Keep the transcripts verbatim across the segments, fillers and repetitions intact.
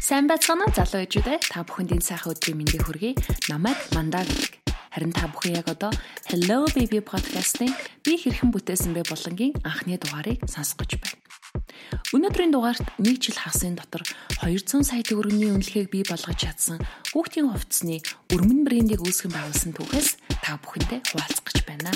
Сайн байцгаана уу залуу ээжүүдээ. Та бүхэнд энэ сайхан өдрийн мэндийг хүргэе. Намайг Мандаа гэдэг. Харин та бүхэн яг одоо Hello Baby podcast-ийн би хэрхэн бүтээсэн бэ болонгийн анхны дугаарыг сонсох гэж байна. Өнөөдрийн дугаарт нэг жил хагасын дотор хоёр зуун сая төгрөгийн үнэлгээг бий болгож чадсан хүүхдийн хувцсны өрмөн брендийг үүсгэн байгуулсан түүхээс та бүхэндээ хуваалцах гэж байна.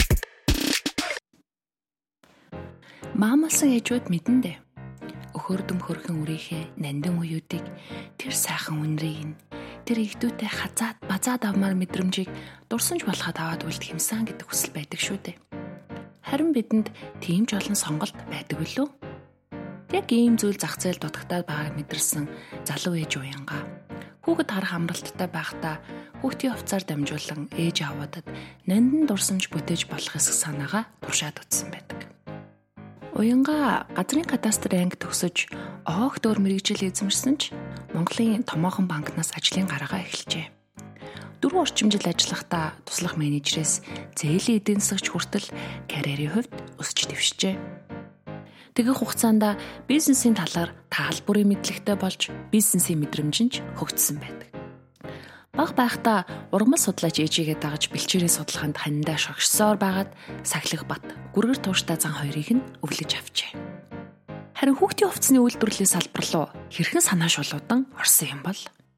Маамалсан ээжүүд мэдэн дээ. Өхөрдөм хөрхөн үрийнхээ нандин уюудыг тэр сайхан үнрийг нь тэр игдүүтэй хазаад базаад авмаар мэдрэмжийг дурсамж болоход аваад үлдэх юмсан гэдэг хүсэл байдаг шүү дээ. Харин бидэнд тийм ч олон сонголт байдаг билүү? Яг ийм зүйл зах зээл дутагтаад байгааг мэдэрсэн залуу ээж уянгаа хүүхэд харах амралттай байхдаа хүүхдийн хувцаар дамжуулан ээж аваадад нандин дурсамж бүтээж болох эсэх санаагаа туршаад утсан байдаг. Уянгаа газрын кадастрын анги төгсөж оогт өөр мэрэгжил эзэмшсэн ч Монголын томоохон банкнаас ажлын гарагаа эхэлжээ. Дөрвөн орчим жил ажиллахдаа туслах менежерээс зээлийн эдийн засагч хүртэл карьерийн хувьд өсч дэвшжээ. Тэгэх хугацаанд бизнесийн талаар таалбарын мэдлэгтэй болж бизнесийн мэдрэмж нь хөгжсөн байдаг. Баг байхдаа ургамал судлаач ээжигээ дагаж бэлчээрийн судалгаанд ханиндаа шогшсоор байгаад Сахилах бат гүргэр тууштай зан хоёрыг нь өвлөж авчээ. Харин хүүхдийн хувцсны үйлдвэрлэлийн салбар руу хэрхэн санаа шулуудан орсон юм бол?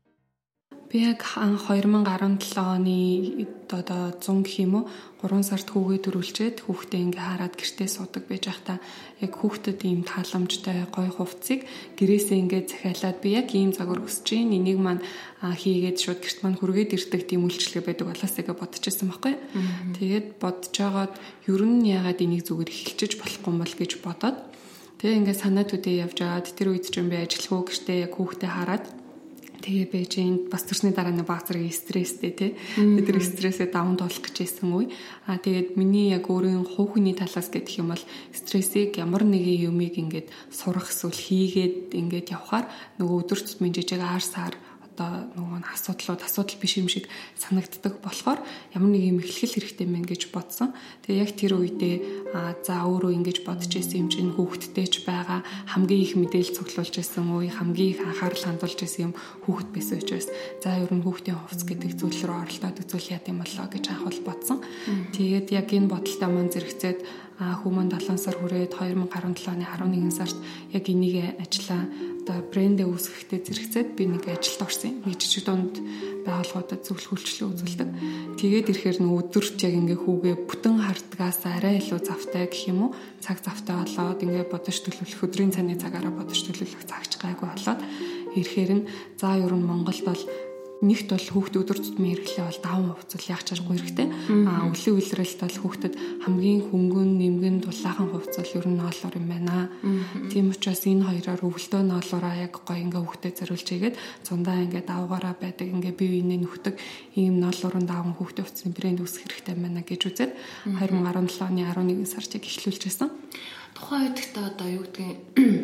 Би яг хоёр мың гарсан оны одоо зун гэх юм уу гурван сард хүүгээ төрүүлчихэд хүүхдээ ингээ хараад гэртээ суудаг байж байхдаа яг хүүхдэд ийм тааламжтай гоё хувцсыг гэрээсээ ингээ захиалаад би яг ийм загвар хүсэж байна. Энийг маань хийгээд шууд гэрт маань хүргээд ирдэг тийм үйлчлэгээ байдаг болоос тэгээ бодчихсон байхгүй. Тэгээд бодож байгаад ер нь яагаад энийг зүгээр эхэлчих болохгүй юм бол гэж бодоод тэгээ ингээ санаа төдөө явж аваад тэр үед ч юм би ажиллахгүй гэртээ яг хүүхдээ хараад тэгээ Бээжинд бас төрсний дараа нэг баг зэрэг стресстэй тий. Тэр стрессээ даван туулах гэж байсан үе. Аа тэгээд миний яг өөрийн хувь хүний талаас гэх юм бол стрессийг ямар нэгэн юмыг ингээд сурах эсвэл хийгээд ингээд явхаар нөгөө өдөр тутмын жижиг аар саар одоо нөгөө асуудлууд асуудал биш юм шиг санагддаг болохоор ямар нэг юм эхлэл хэрэгтэй мэн гэж бодсон. Тэгээ яг тэр үедээ за өөрөө ингэж бодож исэн юм чинь хүүхэдтэй ч байгаа хамгийн их мэдээлэл цуглуулж исэн үе хамгийн их анхаарал хандуулж исэн юм хүүхэд байсан учраас за ер нь хүүхдийн хувцс гэдэг зүйл рүү оролдоод үзүүл яа гэм болоо гэж анхвал бодсон. Тэгээд яг энэ бодолтой маань зэрэгцээд хүмүүн долоон сар хүрээд хоёр мың гарсан оны арван нэгэн сард яг энийг ажиллаа одоо брэндээ үүсгэхдээ зэрэгцээд би нэг ажилд орсон. Нэг жижиг дунд байгууллагуудад зөвлөх үйлчлэл үзүүлдэг. Тэгээд ирэхээр нэг өдөрт яг ингээ хүүгээ бүтэн хардгаас арай илүү завтай гэх юм уу цаг завтай болоод ингээ бодож төлөвлөх өдрийн цааны цагаараа бодож төлөвлөх цагч гайгүй болоод ирэхээр нь за ер нь Монголд бол нэгт бол хүүхд өдөр тутмын хэрэглээ бол даван хувцас яах чаргагүй хэрэгтэй. Аа өвлийн үйлрэлт бол хүүхдэд хамгийн хөнгөн нэмгэн дулаахан хувцас ер нь ноолоор юм байна. Тийм учраас энэ хоёроор өвөлдөө ноолоороо яг гоё ингээ хүүхдэд зориулж игээд зундаа ингээ давгаараа байдаг ингээ бие биенээ нөхдөг ийм ноолоорын даван хүүхдийн хувцасны брэнд үүсгэх хэрэгтэй байна гэж үзээд хоёр мың гарсан оны арван нэгэн сард яг эхлүүлж байсан. Тухайн үед та одоо юу гэдгийг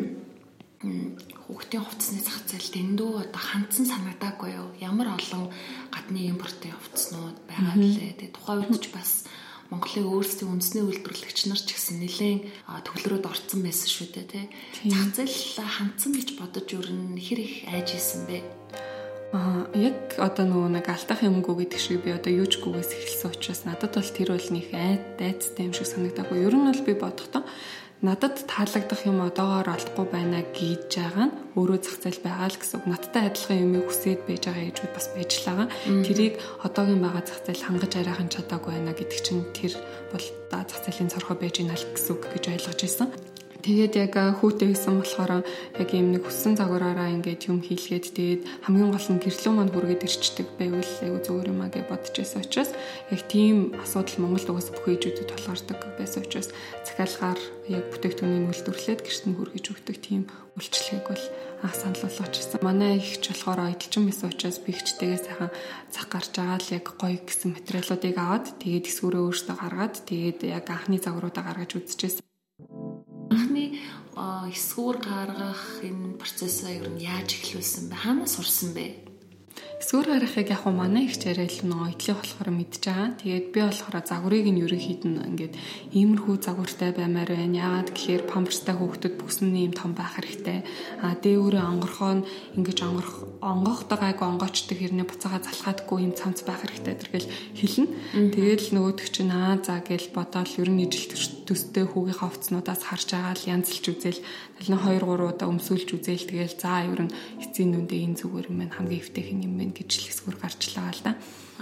хүүхдийн хувцсны зах зээл дэндүү одоо хандсан санагдаагүй юу? Ямар олон гадны импортын хувцснууд байгаа лээ. Тэгээ тухайн үед ч бас Монголын өөрсдийн үндэсний үйлдвэрлэгч нар ч гэсэн нэлээд төвлөрөөд орцсон байсан шүү дээ, тий. Зах зээл хандсан гэж бодож өрн хэр их айж исэн бэ? Аа яг одоо нөгөө нэг алтах юмгүй гэдэг шиг би одоо юучгүйгээс эхэлсэн учраас надад бол тэр бол нэг айд дайцтай юм шиг санагдаагүй. Ер нь бол би бодохдоо надад таалагдах юм одоогоор олдохгүй байна гэж байгаа нь өөрөө зах зээл байгаа л гэсэн. Надтай адилхан юмыг хүсээд байж байгаа ээжүүд бас байж л байгаа. Тэрийг одоогийн байгаа зах зээл хангаж арайхан чадаагүй байна гэдэг чинь тэр бол зах зээлийн цорхоо байж ийна л гэсэн үг гэж ойлгож байсан. Тэгээд яг хүүтэй байсан болохоор яг юм нэг хүссэн загвараараа ингээд юм хийлгээд тэгээд хамгийн гол нь гэрлөө манд хүргээд ирчдэг байвал айгу зүгээр юм аа гэж бодож байсан учраас яг тийм асуудал Монголд угсаа бүх ээжүүдэд тулгардаг байсан учраас захиалгаар яг бүтээгдэхүүнийг үйлдвэрлээд гэрт нь хүргэж өгдөг тийм үйлчлэгийг бол анх санал болгож ирсэн. Манай ихч болохоор ойдолчин байсан учраас би ихчтэйгээ сайхан зах гарч байгаа л яг гоё гэсэн материалуудыг аваад тэгээд эсвэрээ өөртөө гаргаад тэгээд яг анхны загваруудаа гаргаж үзчихсэн. Анхны эсгүүр гаргах энэ процессыг ер нь яаж эхлүүлсэн бэ? Хаанаас сурсан бэ? Эсвэр гарахыг яг хуу манай их чарэл нөө итлээ болохоор мэдж байгаа. Тэгээд би болохоор загварыг нь ерөнхийд нь ингээд иймэрхүү загвартай баймаар байна. Яагаад гэхээр памперстай хүүхдүүд бүс нь ийм том байх хэрэгтэй. А дээврээ онгорхоо ингэж онгорх онгохдогайг онгоочдөг хэрнээ буцаага залхаадаггүй ийм цамц байх хэрэгтэй тэргээл хэлнэ. Тэгээд л нөгөөдөг чинь аа за гэж бодоол ер нь ижил төстэй хүүгийнхаа хувцснуудаас харж байгаа л янзлж үзэл тэгэл нэг хоёр гурав удаа өмсүүлж үзэл тэгэл за ер нь эцсийн нүндээ энэ зүгээр юм байна хамгийн эвтэйх юм байна гэж л эсвэр гарчлаа л да.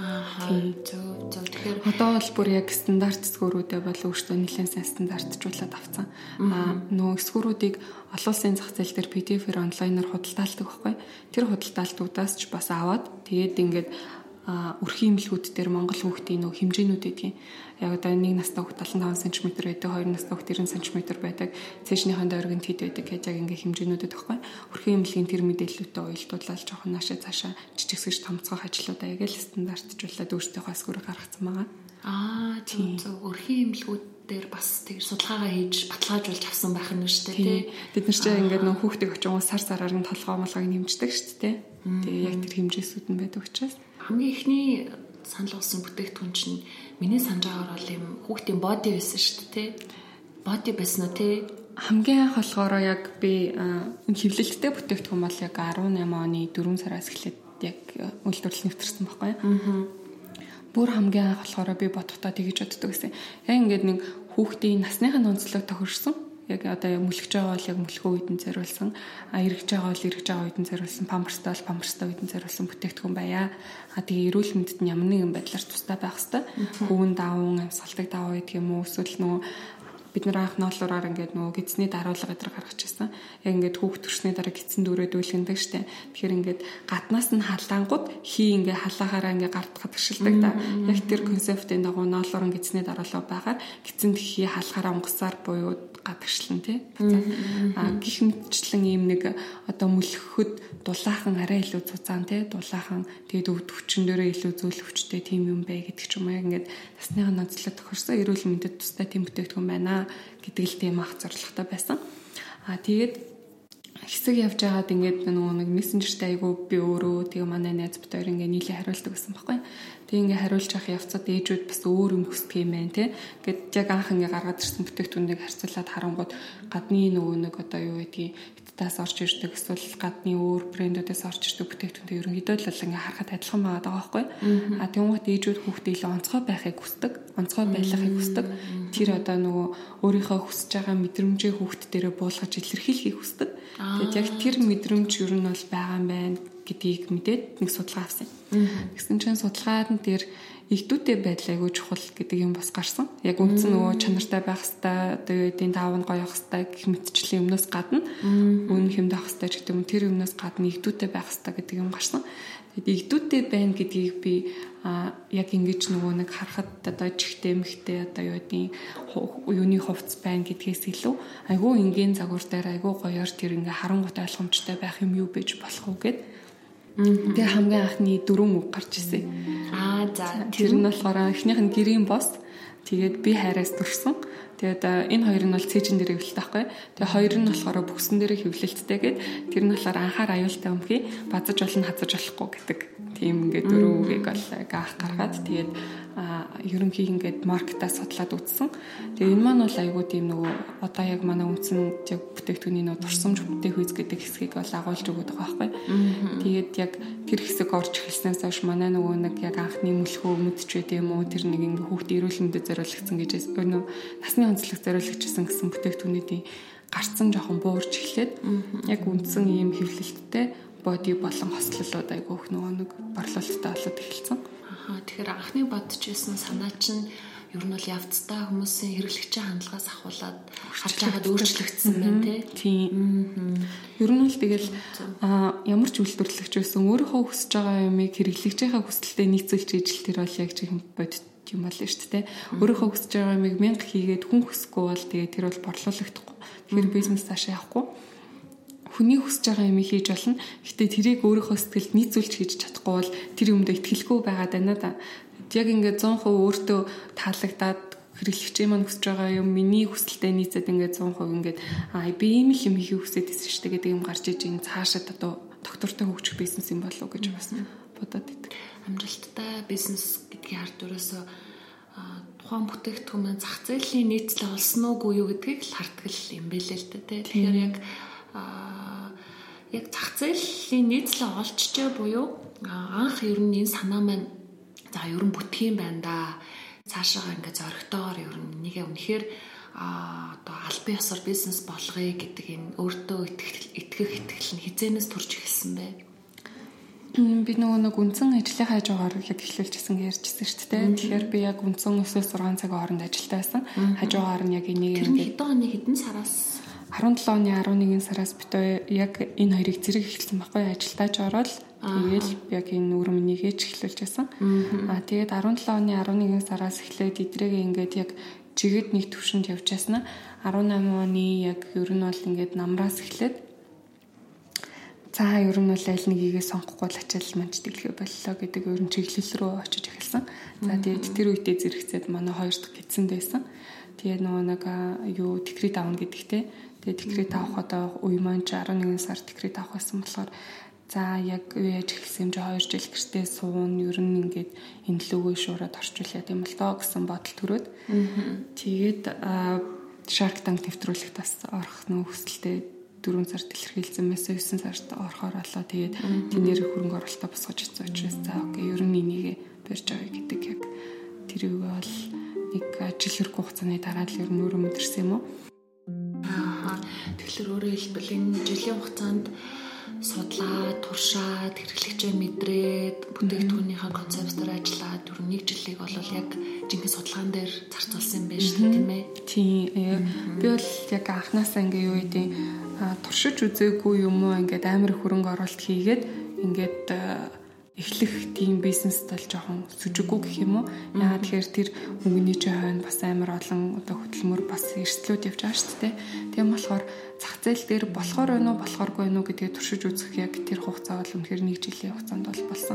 Аа зөв зөв тэгэхээр одоо бол бүр яг стандарт эсвэрүүдээ бол өөртөө нэлээд сайн стандартжуулаад авцсан. Аа нөгөө эсвэрүүдийг олон улсын зах зээл дээр пи ди эф-ээр онлайнаар худалдаалдаг байхгүй. Тэр худалдаалтуудаас ч бас аваад тэгээд ингээд өрхийн имлгүүд дээр Монгол хүүхдийн нөх хэмжээнүүд гэдгийг яг одоо нэг настай хүүхд долоо таван сантиметр байдаг, хоёр настай хүүхд девять сантиметр байдаг, цэжнийхэн дөргөнд хэд байдаг гэж яг ингээ хэмжээнүүдэд байхгүй. Өрхийн имлгийн тэр мэдээллүүдээ уялдуулаад жоохон наашаа цаашаа жижигсэж томцоох ажлуудаа яг л стандартжуулаад өөртөөхөө эсвэр гаргацсан байгаа. Аа тийм зөв өрхийн имлгүүд дээр бас тэр судалгаагаа хийж баталгаажуулж авсан байх нь шүү дээ. Бид нар чинь ингээд нөх хүүхдийг очиж сар сараар нь толгоо молгоог нэмждэг шүү дээ. Тэгээ яг тэр хэмжээсүүд нь байдаг учраас хамгийн ихний санал болсон бүтээгдэхүүн чинь миний санаж байгаагаар бол юм хүүхдийн боди байсан шүү дээ. Боди байсан уу те? Хамгийн анх болохоор яг би хэвлэлттэй бүтээгдэхүүн бол яг дөрвөн оны дөрвөн сараас эхлээд яг үйлдвэрлэл нэвтэрсэн байхгүй юу? Бүр хамгийн анх болохоор би бодохдоо тэгэж боддог гэсэн. Яг ингээд нэг хүүхдийн насныхын онцлог тохирсон. Яг одоо мөлхөж байгаа бол яг мөлхөө үед нь зориулсан, а эргэж байгаа бол эргэж байгаа үед нь зориулсан, памперстай бол памперстай үед нь зориулсан бүтээгдэхүүн байя. А тэгээ эрүүл мэндэд нь ямар нэгэн байдлаар тустай байх хэвээр. Хүүн даван, амьсгалдаг даваа гэдэг юм уу, эсвэл нөгөө бид нар анх ноолуураар ингээд нөгөө гидсний даруулга гэдэр гаргаж ирсэн. Яг ингээд хүүхд төрсний дараа гидсэн дүүрээ дүүлгэндэг штэ. Тэгэхээр ингээд гаднаас нь халаангууд хий ингээд халаагаараа ингээд гард гадагшилдаг да. Яг тэр концептын дагуу ноолуурын гидсний даруулга байгаад гидсэнд хий халахаараа онгоцоор буюу гадагшлан тий. А гих мэтчлэн ийм нэг одоо мөлхөхөд дулаахан арай илүү цуцаан тий. Дулаахан тэгээд өвд хүчин дээрээ илүү зүйл хүчтэй тийм юм бай гэдэг ч юм уу. Яг ингээд насныхаа ноцлог тохирсон эрүүл мэндэд тустай тийм бүтээгдэхүүн байна гэдэг л тийм ах зорилготой байсан. А тэгээд хэсэг явж байгаад ингээд нөгөө нэг мессенжертэй айгу би өөрөө тэгээ манай найз бит хоёр ингээд нийлээ хариулдаг гэсэн байхгүй. Тэг ингээ хариулж авах явцад ээжүүд бас өөр юм хүсдэг юм байна те. Гэт яг анх ингээ гаргаад ирсэн бүтээгдэхүүнийг харьцуулаад харангууд гадны нөгөө нэг одоо юу гэдгийг Италиас орж ирдэг эсвэл гадны өөр брэндүүдээс орж ирдэг бүтээгдэхүүнтэй ерөнхийдөө л ингээ харахад адилхан байгаа даа байхгүй. А тэгмэд ээжүүд хүүхдээ илүү онцгой байхыг хүсдэг, онцгой байлгахыг хүсдэг. Тэр одоо нөгөө өөрийнхөө хүсэж байгаа мэдрэмжээ хүүхд дээрээ буулгаж илэрхийлэхийг хүсдэг. Тэгээд яг тэр мэдрэмж ер нь бол байгаа юм байна гэдгийг мэдээд нэг судалгаа авсан. Тэгсэн чинь судалгаад нь тэр ихдүүтэй байдал айгүй чухал гэдэг юм бас гарсан. Яг үндсэн нөгөө чанартай байх хэвээр одоо юу гэдгийг даав нь гоё явах хэвээр гэх мэтчлийн өмнөөс гадна үн хэмдэх хэвээр ч гэдэг юм тэр өмнөөс гадна ихдүүтэй байх хэвээр гэдэг юм гарсан. Тэгээд ихдүүтэй байна гэдгийг би а яг ингэж нөгөө нэг харахад одоо чихтэй мөхтэй одоо юу гэдгийг юуны хувцс байна гэдгээс илүү айгүй энгийн загвар дээр айгүй гоёор тэр ингээ харангуйтай ойлгомжтой байх юм юу байж болох уу гэд тэр хамгийн анхны дөрвөн үг гарч ирсэн. Аа за тэр нь болохоор эхнийх нь гэрийн бос тэгээд би хайраас төрсөн. Тэгээд энэ хоёр нь бол цэжин дээр хэвлэлтэй байхгүй. Тэгээд хоёр нь болохоор бүксэн дээр хэвлэлттэй гээд тэр нь болохоор анхаар аюултай өмхий базаж болно хазаж болохгүй гэдэг. Тийм ингээд дөрөв үгийг бол гаах гаргаад тэгээд ерөнхий ингээд маркетаа судлаад үзсэн. Тэгээд энэ маань бол айгүй тийм нөгөө одоо яг манай үндсэн яг бүтээгдэхүүний нөгөө турсамж бүтээх үйс гэдэг хэсгийг бол агуулж өгöd байгаа байхгүй. Тэгээд яг тэр хэсэг орж эхэлснээс хойш манай нөгөө нэг яг анхны мөлхөө өмдөж байт юм уу тэр нэг ингээд хүүхдийн эрүүл мэндэд зориулагдсан гэж нөгөө насны онцлог зориулагдсан гэсэн бүтээгдэхүүнүүдийн гарцсан жоохон буурч эхлээд яг үндсэн ийм хэвлэлттэй боди болон хослолууд айгүй их нөгөө нэг борлуулалттай болоод эхэлсэн. Аа тэгэхээр анхны бодож байсан санаа чинь ер нь бол явцдаа хүмүүсийн хэрэглэгчийн хандлагаас ахуулаад харж байгаад өөрчлөгдсөн байна тийм. Ер нь л тэгэл ямар ч үйлдвэрлэгч байсан өөрийнхөө хүсэж байгаа юмыг хэрэглэгчийнхээ хүсэлтэд нийцүүлж ижил тэр бол яг чихэн бодит юм байна шүү дээ. Өөрийнхөө хүсэж байгаа юмыг мянга хийгээд хүн хүсэхгүй бол тэгээ тэр бол борлуулагдахгүй. Тэгэхээр бизнес цаашаа явахгүй. Хүний хүсэж байгаа юм хийж болно. Гэтэ тэрийг өөрийнхөө сэтгэлд нийцүүлж хийж чадахгүй бол тэр юмдээ итгэлгүй байгаад байна да. Яг ингээд сто процент өөртөө таалагдаад хэрэглэгчийн маань хүсэж байгаа юм миний хүсэлтэд нийцээд ингээд сто процент ингээд аа би ийм л юм хийх хүсэж байсан шүү дээ гэдэг юм гарч иж энэ цаашаа одоо доктортой хөгжих бизнес юм болов уу гэж бас бодоод байдаг. Амжилттай бизнес гэдгийн ард юусоо тухайн бүтээгдэхүүн маань зах зээлийн нийтлэл олсон уугүй юу гэдгийг л харддаг юм бэлээ л дээ. Тэгэхээр яг яг зах зээлийн нийтлэл олчжээ буюу анх ер нь энэ санаа маань за ер нь бүтэх юм байна да. Цаашаа ингээд зоригтойгоор ер нь нэгэ үнэхээр одоо албан ёсоор бизнес болгоё гэдэг энэ өөртөө итгэх итгэх итгэл нь хизээнээс турж эхэлсэн бэ? Би нөгөө нэг үндсэн ажлын хажуугаар яг эхлүүлчихсэн ярьжсэн шүү дээ. Тэгэхээр би яг үндсэн өсөө зургаан цагийн хооронд ажилтаа байсан. Хажуугаар нь яг энийг ингээд хэдэн оны хэдэн сараас арван долоо оны арван нэгэн сараас бид яг энэ хоёрыг зэрэг эхэлсэн байхгүй ажилтаач ороод тэгээл яг энэ үрмэнийгээ ч эхлүүлж байсан. Аа тэгээд арван долоо оны арван нэгэн сараас эхлээд эдрээгээ ингээд яг жигэд нэг төвшөнд явж яснаа арван намын оны яг ер нь бол ингээд намраас эхлээд за ер нь бол аль нэгийгээ сонгохгүй л ачаал манч тэглэхэ боллоо гэдэг ер нь чиглэл рүү очиж эхэлсэн. За тэгээд тэр үедээ зэрэгцээд манай хоёр дахь гидсэнд байсан. Тэгээд нөгөө нэг юу декрет авна гэдэгтэй. Тэгээд декрет авах одоо үе маань арван нэгэн сар декрет авах байсан болохоор за яг яаж эхэлсэн юм чи хоёр жил гэртээ суун ер нь ингээд энэ лүгөө шуураад орчуулад юм л доо гэсэн бодол төрөөд. Тэгээд Shark Tank нэвтрүүлэгт бас орох нөх хүсэлтэй дөрвөн сард илэрхийлсэн байсан девять сард орохоор болоо. Тэгээд тэнээр хөрөнгө оруулалтаа босгож ирсэн учраас за окей ер нь энийгээ барьж авъя гэдэг яг тэр үг бол нэг жил хэрэг хугацааны дараа л ер нь өөрөө мэдэрсэн юм уу? Аа тэгэхээр өөрөөр хэлбэл энэ жилийн хугацаанд судлаад, туршаад, хэрэглэгчээ мэдрээд, бүтээгдэхүүнийхээ концептээр ажиллаад ер нь нэг жилийг бол яг жинхэнэ судалгаан дээр зарцуулсан юм байна шүү дээ, тийм ээ? Тийм. Би бол яг анханасаа ингээ юу гэдэг туршиж үзээгүй юм уу ингээд амар хөрөнгө оруулалт хийгээд ингээд эхлэх тийм бизнест л жоохон сүжиггүй гэх юм уу. Яагаад тэгэхээр тэр өнгөний чинь хойно бас амар олон одоо хөдөлмөр бас эрсдлүүд явж байгаа шүү дээ. Тийм болохоор зах зээл дээр болохоор байна уу, болохооргүй байна уу гэдгийг туршиж үзэх яг тэр хугацаа бол үнэхээр нэг жилийн хугацаанд бол болсон.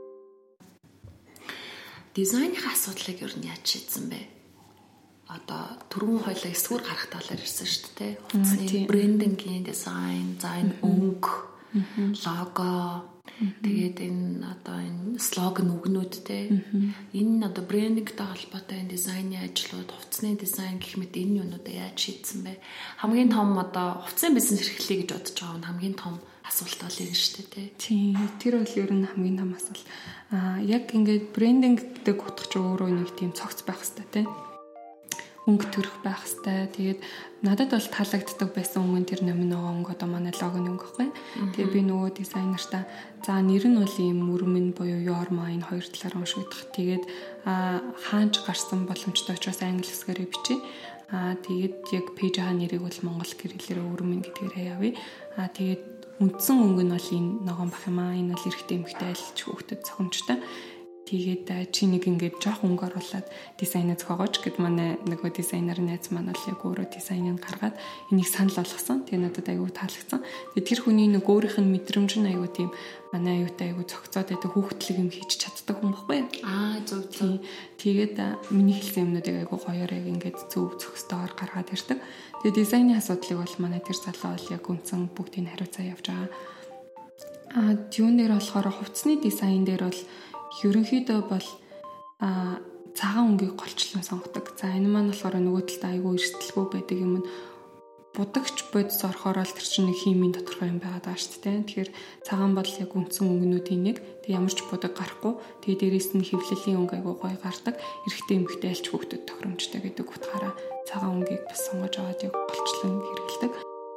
Дизайны асуудлыг ер нь яаж шийдсэн бэ? Одоо түрүүн хоёлаа эсвэр гарах талаар ирсэн шүү дээ. Хувцсны брендингийн дизайн, зайн өнгө, лого, тэгээд энэ одоо энэ слоган үгнүүдтэй энэ одоо брендингтэй холбоотой энэ дизайны ажлууд, хувцсны дизайн гэх мэт энэ юмнуудаа яаж шийдсэн бэ? Хамгийн том одоо хувцсын бизнес эрхлэе гэж бодож байгаа нь хамгийн том асуулт бол энэ шүү дээ. Тийм. Тэр бол ер нь хамгийн том асуулт. Аа яг ингээд брендингтэй гутгах ч өөрөө нэг тийм цогц байх хэрэгтэй тийм. Өнгө төрөх байх хэвээр. Тэгээд надад бол таалагддаг байсан өнгө тэр номиногоо өнгө одоо манай логоны өнгө гэхгүй. Тэгээд би нөгөө дизайнертаа за нэр нь бол ийм мөрмөн буюу Yorma энэ хоёр талаар уншигдах. Тэгээд хаанч гарсан боломжтой учраас англи хэсгээрээ бичиж. Аа тэгээд яг пэйжийн нэрийг бол монгол гэрлэлээр өрмөн гэдгээрээ явъя. Аа тэгээд үндсэн өнгө нь бол энэ ногоон бах юм аа. Энэ бол эрэгтэй эмэгтэй айлч хүүхдэд цохимжтой. Тэгээд чи нэг ингээд жоох өнгө оруулаад дизайнаа зохиогооч гэд манай нөгөө дизайнер найз маань бол яг өөрөө дизайныг гаргаад энийг санал болгосон. Тэгээ надад айгүй таалагдсан. Тэгээ тэр хүний нэг өөрийнх нь мэдрэмж нь айгүй тийм манай аюутай айгүй цогцоод байдаг хүүхдлэг юм хийж чаддаг хүн баггүй. Аа зөв зөв. Тэгээд миний хэлсэн юмнуудыг айгүй гоёор яг ингээд зөв цогцтойгоор гаргаад ирдэг. Тэгээ дизайны асуудлыг бол манай тэр залуу бол яг үндсэн бүгдийг хариуцаа явж байгаа. Аа юун дээр болохоор хувцсны дизайн дээр бол ерөнхийдөө бол а цагаан өнгийг голчлон сонгодог. За энэ маань болохоор нөгөө талд айгүй эрсдэлгүй байдаг юм. Будагч бодис орохоор л тэр чинь нэг химийн тодорхой юм байгаад байгаа шүү дээ. Тэгэхээр цагаан бол яг үндсэн өнгөнүүдийн нэг. Тэг ямар ч будаг гарахгүй. Тэгээ дээрээс нь хэвлэлийн өнгө айгүй гоё гардаг. Эрэгтэй эмэгтэй альч хүүхдэд тохиромжтой гэдэг утгаараа цагаан өнгийг бас сонгож аваад яг голчлон хэрэглэдэг.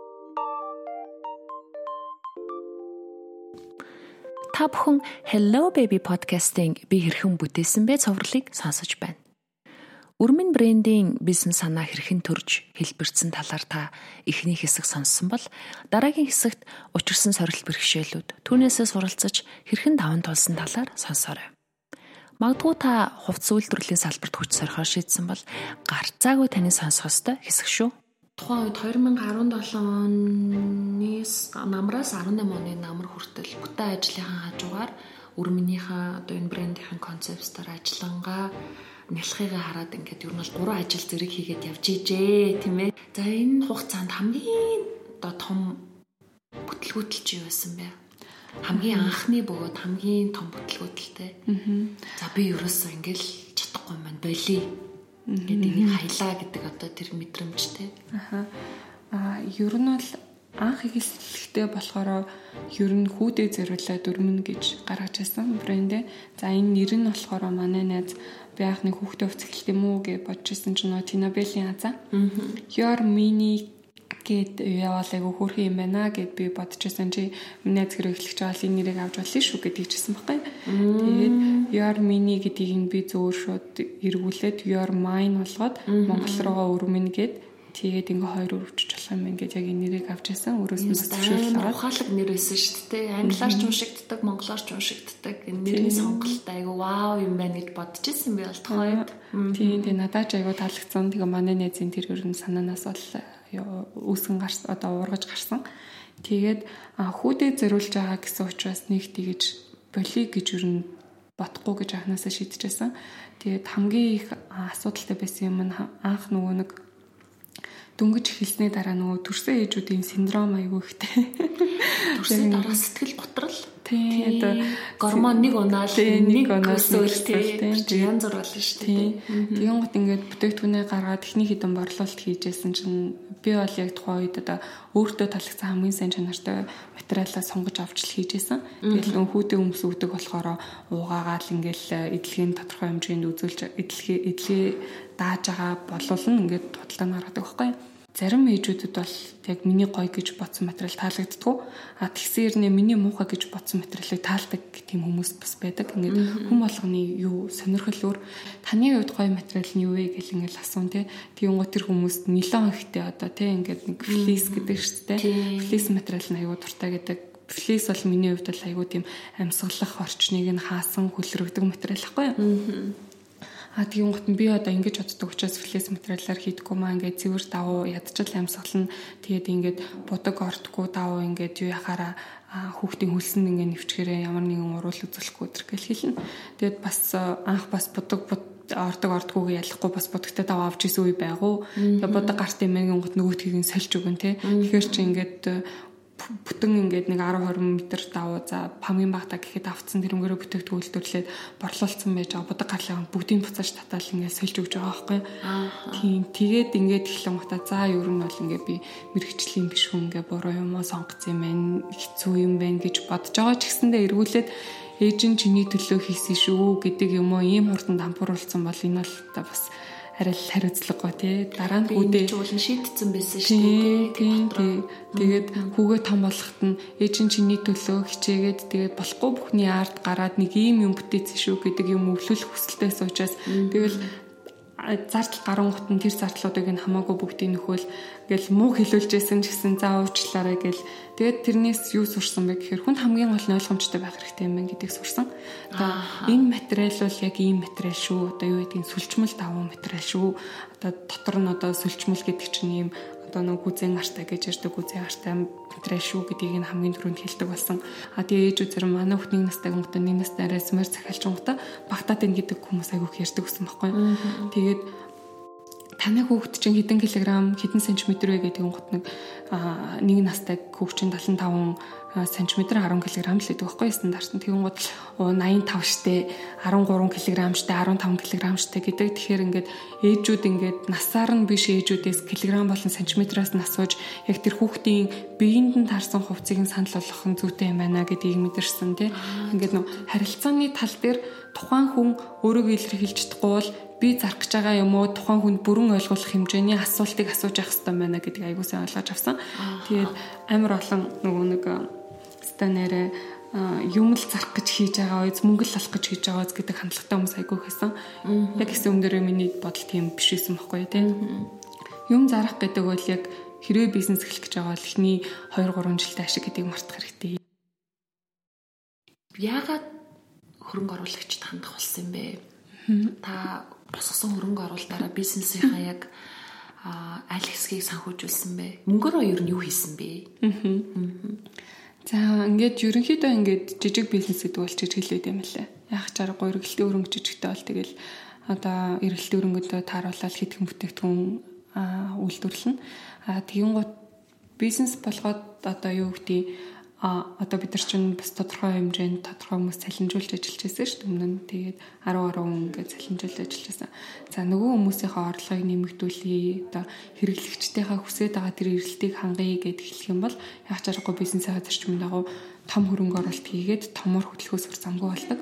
Та бүхэн Hello Baby podcast-ийн би хэрхэн бүтээсэн бэ цоврлыг сонсож байна. Үрмэн брендийн бизнес санаа хэрхэн төрж хэлбэрсэн талаар та эхний хэсэг сонссон бол дараагийн хэсэгт учирсан сорилт бэрхшээлүүд түүнээсээ суралцаж хэрхэн даван тулсан талаар сонсоорой. Магадгүй та хувцс үйлдвэрлэлийн салбарт хүч сорихоор шийдсэн бол гарцаагүй таны сонсох ёстой хэсэг шүү. Тухайн үед две тысячи десять оны намраас eighteen оны намар хүртэл бүтээн ажлынхаа хажуугаар өрмөнийхөө одоо энэ брендийн концептээр ажиллангаа нялхыг хараад ингээд ер нь бол гурван ажил зэрэг хийгээд явж ижээ тийм ээ. За энэ хугацаанд хамгийн одоо том бүтлгүүтэл чи юу байсан бэ? хамгийн анхны бөгөөд хамгийн том бүтлгүүдэлтэй. За би ерөөсөө ингээл чадахгүй маань болий. Ингээд энийг хайлаа гэдэг одоо тэр мэдрэмжтэй. Аха. А ер нь бол анх эхлэлтэй болохоор ер нь хүүдээ зориулаад өрмөн гэж гаргаж байсан брэндээ. За энэ нэр нь болохоор манай найз би анхны хүүхдээ хувц эхэлт юм уу гэж бодож ирсэн чинь нөө Tinabelle-ийн азаа. Your mini гэд яваал айгу хөөрхөн юм байна гэд би бодож байсан чи миний найз хэрэг эхлэж байгаа л энэ нэрийг авч болно шүү гэж хэлсэн байхгүй. Тэгээд Your mini гэдгийг нь би зөөр шууд эргүүлээд Your mine болгоод монгол руугаа өрмөн гэд тэгээд ингээ хоёр өрөвчж болох юм ингээд яг энэ нэрийг авч байсан. Өөрөөс нь зөвшөөрөл аваад ухаалаг нэр байсан шүү дээ. Англиар ч уншигддаг, монголоор ч уншигддаг. Энэ нэрийн сонголт айгу вау юм байна гэж бодож ирсэн би болтохойд. Тийм тийм надад ч айгу таалагдсан. Тэгээ манай найзын тэр ер нь санаанаас бол үүсгэн гарсан одоо уургаж гарсан. Тэгээд хүүдээ зориулж байгаа гэсэн учраас нэг тэгэж боли гэж ер нь бодохгүй гэж анханасаа шийдэжсэн. Тэгээд хамгийн их асуудалтай байсан юм нь анх нөгөө нэг дөнгөж эхэлсний дараа нөгөө төрсөн ээжүүдийн синдром аягүй ихтэй. Төрсөн дараа сэтгэл готрол. Тийм одоо гормон нэг унаал нэг өсөөл тийм янз бүр болно шүү дээ. Тэгэн гот ингээд бүтээгдэхүүнээ гаргаад техник хідэн борлуулалт хийжсэн чинь би бол яг тухайн үед одоо өөртөө таалагдсан хамгийн сайн чанартай материалаа сонгож авч л хийжсэн. Тэгэл нөх хүүдээ өмсөвдөг болохоор уугаагаал ингээл эдлэгийн тодорхой хэмжээнд үзүүлж эдлэгээ эдлэгээ дааж байгаа болуулна ингээд бодлоо наргадаг байхгүй. Зарим ээжүүдэд бол яг миний гоё гэж бодсон материал таалагддаггүй. А тэгсээр нэ миний муухай гэж бодсон материалыг таалдаг тийм хүмүүс бас байдаг. Ингээд хүн болгоны юу сонирхол өөр. Таны хувьд гоё материал нь юу вэ гэж ингээд асуун те. Тийм гоо тэр хүмүүст нилон ихтэй одоо те ингээд нэг флис гэдэг шүү дээ. Флис материал нь аюу дуртай гэдэг. Флис бол миний хувьд бол аюу тийм амьсгалах орчныг нь хаасан хүлрэгдэг материал байхгүй юу? А тийм гот би одоо ингэж боддог учраас флес материалаар хийдэггүй маа ингээд цэвэр давуу ядчил амьсгална. Тэгээд ингээд будаг ортгүй давуу ингээд юу яхаараа хүүхдийн хөлсөнд ингээд нэвчгээрээ ямар нэгэн уруул үзүүлэхгүй өдр гэл хэлнэ. Тэгээд бас анх бас будаг ордог ордгүйг ялахгүй бас будагтай даваа авч исэн үе байгуу. Тэгээд будаг гарт юм ангин гот нөгөөдхийг нь сольж өгөн те. Тэгэхээр чи ингээд бүтэн ингээд нэг десять двадцать метр давуу за хамгийн багтаа гэхэд авцсан тэрнгээрээ бүтээгдэхүүн үйлдвэрлээд борлуулсан байж байгаа будаг гарлаа бүгдийг буцааж татаал ингээд сольж өгж байгаа байхгүй. Тийм тэгээд ингээд эхлэн гутаа за ер нь бол ингээд би мэрэгчлийн биш хүн ингээд буруу юм уу сонгоцсон юм байна хэцүү юм байна гэж бодож байгаа ч гэсэндээ эргүүлээд ээж нь чиний төлөө хийсэн шүү гэдэг юм уу ийм хурдан дампууруулсан бол энэ бол та бас арай л хариуцлагагүй тий дараа нь хүүдээ уулын шийдсэн байсан шүү дээ. Тэгээд хүүгээ том болоход нь ээж нь чиний төлөө хичээгээд тэгээд болохгүй бүхний ард гараад нэг ийм юм бүтээсэн шүү гэдэг юм өвлүүлэх хүсэлтэйсэн учраас тэгэл зардал гарангуут нь тэр зардлуудыг нь хамаагүй бүгдийг нөхөөл гэл муу хэлүүлжсэн ч гэсэн за уучлаарай гэл тэгээд тэрнээс юу сурсан бэ гэхээр хүн хамгийн гол нь ойлгомжтой байх хэрэгтэй юм байна гэдгийг сурсан. Одоо энэ материал бол яг ийм материал шүү. Одоо юу гэдгийг сүлжмэл давуу материал шүү. Одоо дотор нь одоо сүлжмэл гэдэг чинь ийм одоо нэг гүзэн артай гэж ярьдаг гүзэн артай материал шүү гэдгийг нь хамгийн түрүүнд хэлдэг болсон. А тэгээ ээжүүд зэрэг манай хүүхдийн настай гомтой нэг настай арай смэр захиалж гомтой багтаад ийн гэдэг хүмүүс айгүйх ярьдаг гэсэн байхгүй. Тэгээд таны хүүхд чинь хэдэн килограмм хэдэн сантиметр вэ гэдэг гот нэг нэг настай хүүхд чинь семьдесят пять сантиметр десять килограмм л гэдэг байхгүй стандарт нь тэгэн гот восемьдесят пять штэ десять три килограмм штэ15 килограмм штэ гэдэг. Тэгэхээр ингээд ээжүүд ингээд насаар нь биш ээжүүдээс килограмм болон сантиметраас нь асууж яг тэр хүүхдийн биеинд нь таарсан хувцсыг нь санал болгох нь зүйтэй юм байна гэдгийг мэдэрсэн тий. Ингээд нөө харилцааны тал дээр тухайн хүн өөрийгөө илэрхийлж чадахгүй бол би зарах гэж байгаа юм уу тухайн хүнд бүрэн ойлгох хэмжээний асуултыг асууж явах хэрэгтэй байна гэдгийг аягүй сайн ойлгож авсан. Тэгээд амар олон нөгөө нэг станараа юм л зарах гэж хийж байгаа үз мөнгө л олох гэж хийж байгаа үз гэдэг хандлагатай хүмүүс аягүй хэсэн. Яг гэсэн юм дээр миний бодол тийм биш байсан байхгүй тий. Юм зарах гэдэг бол яг хэрвээ бизнес эхлэх гэж байгаа бол эхний two three жилдээ ашиг гэдгийг мартах хэрэгтэй. Яагаад хөрөнгө оруулагчид хандах болсон юм бэ? Та босгосон хөрөнгө оруулалтаараа бизнесийнхаа яг аль хэсгийг санхүүжүүлсэн бэ? Мөнгөөрөө ер нь юу хийсэн бэ? За ингээд ерөнхийдөө ингээд жижиг бизнес гэдэг бол жижиг хэлээд юм лээ. Яг чаргагүй эргэлтийн өрөнгө жижигтэй бол тэгэл одоо эргэлтийн өрөнгөдөө тааруулаад хэдхэн бүтээгдэхүүн үйлдвэрлэнэ. А тэгэн гут бизнес болгоод одоо юу гэдэг а одоо бид нар чинь бас тодорхой хэмжээнд тодорхой хүмүүс цалинжуулж ажиллаж байсан шүү дээ. Өмнө нь тэгээд арав арав ингээд цалинжуулж ажиллаж байсан. За нөгөө хүмүүсийнхээ орлогыг нэмэгдүүлэе, одоо хэрэглэгчдийнхээ хүсэж байгаа тэр эрэлтийг хангая гэд хэлэх юм бол яг ч аргагүй бизнесээ зарчмын дагуу том хөрөнгө оруулалт хийгээд томор хөдөлгөөс өр замгүй болдог.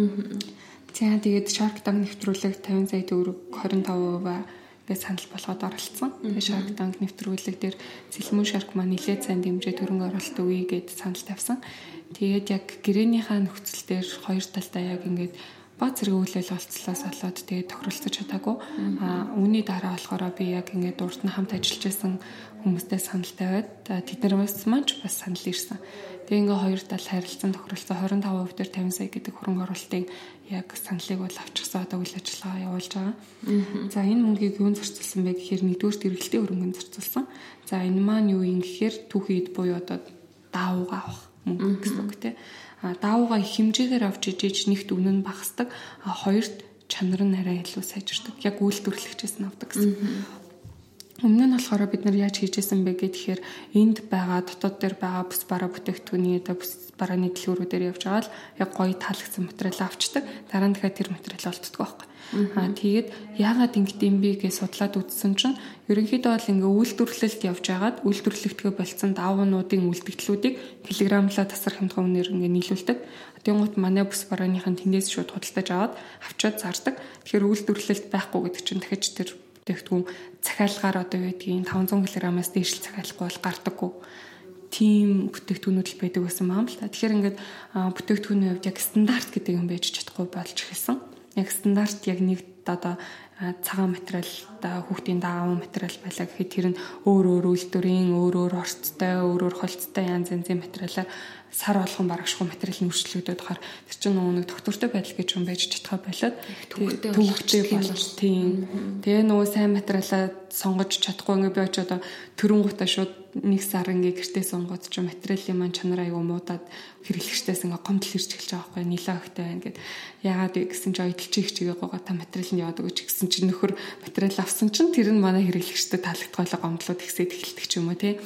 За тэгээд Shark Tank нэвтрүүлэг тавин сая төгрөг хорин таван хувиар гэж санал болгоод оролцсон. Тэгээд Shark Tank нэвтрүүлэг дээр Сэлмүн Shark маань нэлээд сайн дэмжиж хөрөнгө оруулалт өгье гэд санал тавьсан. Тэгээд яг гэрээнийхээ нөхцөл дээр хоёр талдаа яг ингээд баг зэрэг үйл ажиллагаалцлаас болоод тэгээд тохиролцож чадаагүй. А үүний дараа болохоор би яг ингээд урд нь хамт ажиллаж байсан хүмүүстэй санал тавиад тэд нараас маань ч бас санал ирсэн. Тэгээ ингээ хоёр тал харилцан тохиролцоо хорин таван хувь дээр тавин сая гэдэг хөрөнгө оруулалтыг яг саналыг бол авчихсан одоо үйл ажиллагаа явуулж байгаа. За энэ мөнгийг юунд зарцуулсан бэ гэхээр нэгдүгээр хэрэглэлтийн хөрөнгөнд зарцуулсан. За энэ маань юу юм гэхээр түүхийд буюу одоо даавуугаа авах мөнгө гэсэн үг тийм. А даавуугаа их хэмжээгээр авч ижиж нэгт үнэн багасдаг. А хоёрт чанар нь арай илүү сайжирдаг. Яг үйлдвэрлэгчээс нь авдаг гэсэн. Өмнө нь болохоор бид нар яаж хийжсэн бэ гэхээр энд байгаа дотоод дээр байгаа бүс бараа бүтээгдэхүүний одоо бүс барааны дэлгүүрүүдээр явж байгаа л яг гоё таалагдсан материал авчдаг. Дараа нь дахиад тэр материал олддог байхгүй. Аа тэгээд яагаад ингэдэм бэ гэж судлаад үзсэн чинь ерөнхийдөө бол ингээ үйлдвэрлэлд явж байгаад үйлдвэрлэгдэхээ болцсон даавуудын үлдэгдлүүдийг килограмлаа тасар хямдхан үнээр ингээ нийлүүлдэг. Тэнгуут манай бүс барааныхын тэндээс шууд худалдаж аваад авчаад зардаг. Тэгэхээр үйлдвэрлэлд байхгүй гэдэг чинь дахиж тэр бүтээгдэхүүн захиалгаар одоо юу гэдгийг таван зуун килограммаас дээш захиалахгүй бол гардаггүй. Тим бүтээгдэхүүнүүд л байдаг байсан юм л та. Тэгэхээр ингээд бүтээгдэхүүний хувьд яг стандарт гэдэг юм байж чадахгүй болж эхэлсэн. Яг стандарт яг нэг одоо цагаан материалтай хүүхдийн даавуу материал байлаа гэхэд тэр нь өөр өөр үйлдвэрийн өөр өөр орцтой өөр өөр холцтой янз янзын материалаар сар болгон барагшгүй материалын үржлэгдээд хахаар тэр чинь нөгөө нэг доктортой байдал гэж юм байж чадхаа болоод төвөгтэй болж тийм тэгээ нөгөө сайн материалаа сонгож чадахгүй ингээ би очиод төрөнгөтэй шууд нэг сар ингээ гэртээ сонгоод ч материалын маань чанараа аюу муудаад хэрэглэгчдээс ингээ гомдол ирж эхэлж байгаа байхгүй нилээ ихтэй байна гэд яагаад гэсэн чи ойдолч их чигээ гоогоо та материал нь яваад өгч гэсэн чи нөхөр материал авсан чинь тэр нь манай хэрэглэгчдэд таалагдгойлоо гомдлууд ихсээд эхэлдэг ч юм уу тий.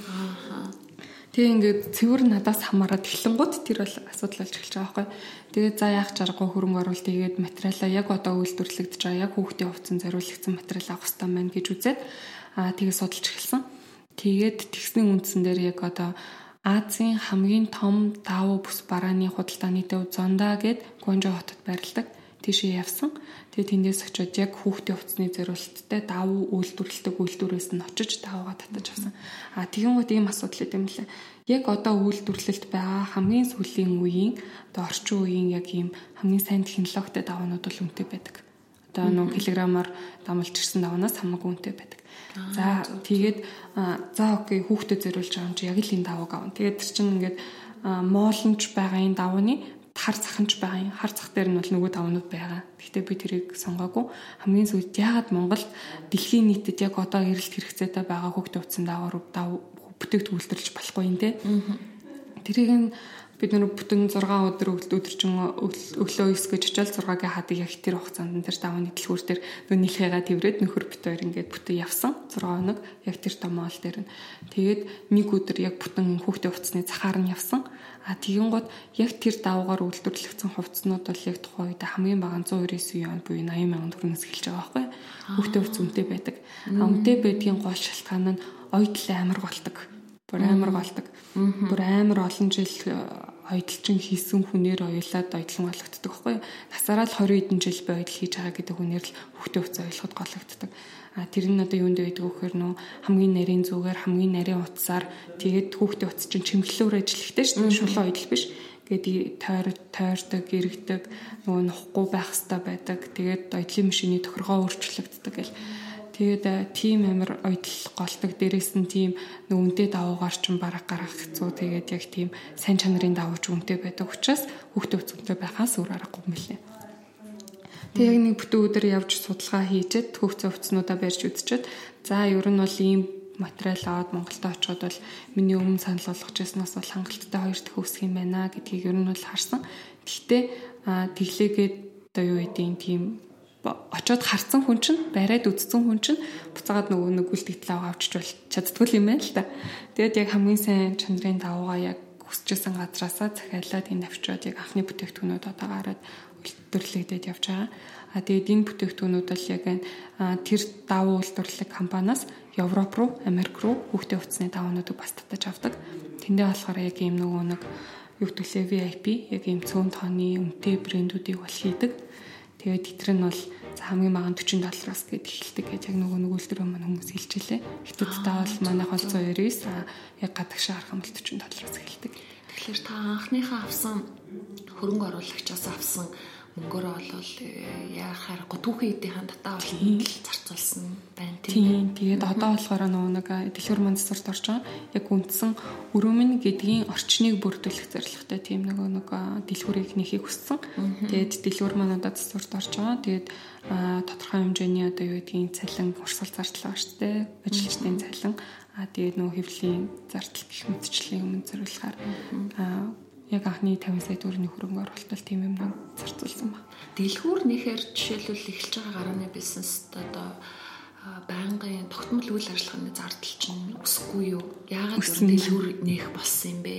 Тэгээ ингээд цэвэр надаас хамаарат эхлэнгууд тэр бол асуудал болж эхэлж байгаа байхгүй. Тэгээд за яах чаргагүй хөрөнгө оруулалт хийгээд материалаа яг одоо үйлдвэрлэгдэж байгаа яг хүүхдийн хувцсан зориулагдсан материал авах хэрэгтэй байна гэж үзээд аа тэгээ судалж эхэлсэн. Тэгээд тэгсний үндсэн дээр яг одоо Азийн хамгийн том даавуу бүс барааны худалдааны төв Зонда гэд Гуанчжоу хотод байрладаг. Тийшээ явсан. Тэгээд тэндээс очиод яг хүүхдийн хувцсны зориулалттай даавуу үйлдвэрлэдэг үйлдвэрээс нь очиж даавуугаа татаж авсан. А тэгэн гот ийм асуудал юм лээ. Яг одоо үйлдвэрлэлт байгаа хамгийн сүүлийн үеийн одоо орчин үеийн яг ийм хамгийн сайн технологитой даавууд бол үнэтэй байдаг. Одоо нэг килограммаар дамлж ирсэн даавнаас хамаагүй үнэтэй байдаг. За тэгээд за окей хүүхдэд зориулж байгаа юм чи яг л энэ даавууг авна. Тэгээд тэр чинь ингээд моолнч байгаа энэ даавууны хар цаханч байгаа юм. Хар цах дээр нь бол нөгөө давнууд байгаа. Гэхдээ би тэрийг сонгоогүй. Хамгийн сүүлд яагаад Монголд дэлхийн нийтэд яг одоо эрэлт хэрэгцээтэй байгаа хүүхдийн хувцсан даавар бүтээгдэхүүн үйлдвэрлэж болохгүй юм те. Тэрийг нь бид нөр бүтэн зургаан өдөр өдөржин өглөө ис гэж очил зургаагийн хадыг яг тэр хугацаанд тэр давны дэлгүүр дээр нөө нэлхээгаа тэрвэрэд нөхөр бит хоёр ингээд бүтэн явсан зургаа хоног яг тэр томоол дээр нь тэгээд нэг өдөр яг бүтэн хүүхдийн хувцсны цахаар нь явсан. А тэгин гот яг тэр даваагаар үйлдвэрлэгдсэн хувцснууд бол яг тухайн үед хамгийн бага зуун девять он буюу восемь мянган төгрөгөөс эхэлж байгаа байхгүй. Хүүхдийн хувцс үнэтэй байдаг. А үнэтэй байдгийн гол шалтгаан нь ойдл амар болдог. Бүр амар болдог. Бүр амар олон жил ойдлчин хийсэн хүнээр ойлаад ойдлон болгогддог байхгүй. Насаараа л двадцать хэдэн жил бай ойдл хийж байгаа гэдэг хүнээр л хүүхдийн хувцс ойлгоход гологддог. А тэр нь одоо юунд байдаг вэхээр нөө хамгийн нарийн зүгээр хамгийн нарийн утсаар тэгээд хүүхдийн утас чинь чимэглэлөөр ажиллахтай шүү дээ. Шулуун ойдл биш. Гээд тойр тойрдог, эргэдэг, нөгөө нухгүй байх хэрэгтэй байдаг. Тэгээд ойдлын машины тохиргоо өөрчлөгддөг гэл. Тэгээд тийм амар ойдл голдог. Дээрээс нь тийм нүнтэй давуугаар ч бараг гарах хэцүү. Тэгээд яг тийм сайн чанарын давууч үнэтэй байдаг учраас хүүхдийн утас үнэтэй байхаас өөр аргагүй юм лээ. Тэг яг нэг бүтэн өдөр явж судалгаа хийжээд хүүхдийн хувцснуудаа барьж үзчихэд за ер нь бол ийм материал аваад Монголд очиход бол миний өмнө санал болгож байснаас бол хангалттай хоёр дахь өсөх юм байна гэдгийг ер нь бол харсан. Гэхдээ тэглээгээд одоо юу гэдэг тийм очоод харсан хүн чинь бариад үзсэн хүн чинь буцаагаад нөгөө нэг үлдэгдэл аваа авчиж бол чаддгүй юм байна л та. Тэгээд яг хамгийн сайн чанарын давуугаа яг хүсчихсэн газраасаа захиалаад энэ авчираад яг анхны бүтээгдэхүүнүүд одоо гараад үйлдвэрлэгдээд явж байгаа. А тэгээд энэ бүтээгдэхүүнүүд бол яг тэр давуу үйлдвэрлэх компаниас Европ руу, Америк руу хүүхдийн хувцсны даваануудыг бас татаж авдаг. Тэндээ болохоор яг ийм нөгөө нэг юу гэдгэлээ ви ай пи яг ийм цөөн тооны үнэтэй брэндүүдийг бол хийдэг. Тэгээд тэтэр нь бол хамгийн бага forty доллараас гээд эхэлдэг гэж яг нөгөө нэг үйлдвэрийн маань хүмүүс хэлж илээ. Хятадтай бол манайх бол one oh nine, яг гадагшаа харах юм бол forty доллараас эхэлдэг. Тэгэхээр та анхныхаа авсан хөрөнгө оруулагчаас авсан мөнгөөрөө бол яахаар го түүхэн эдийн татаа болно зарцуулсан байна тийм. Тэгээд одоо болохоор нөгөө нэг дэлгүүр маань засварт орж байгаа. Яг үндсэн өрөөмн гэдгийн орчныг бүрдүүлэх зорилготой тийм нөгөө нэг дэлгүүрийг нэхийг хүссэн. Тэгээд дэлгүүр маань одоо засварт орж байгаа. Тэгээд тодорхой хэмжээний одоо юу гэдгийг цалин урсгал зардал байгаа шүү дээ. Ажилчдын цалин. А тэгээд нөгөө хэвлэлийн зардал гэх мэтчлийн өмнө зориулахаар яг анхны fifty сая төгрөгийн хөрөнгө оруулалт тийм юм зарцуулсан ба. Дэлгүүр нэхэр жишээлбэл эхэлж байгаа гарааны бизнест одоо байнгын тогтмол үйл ажиллагааны зардал чинь өсөхгүй юу? Яагаад дэлгүүр нэх болсон юм бэ?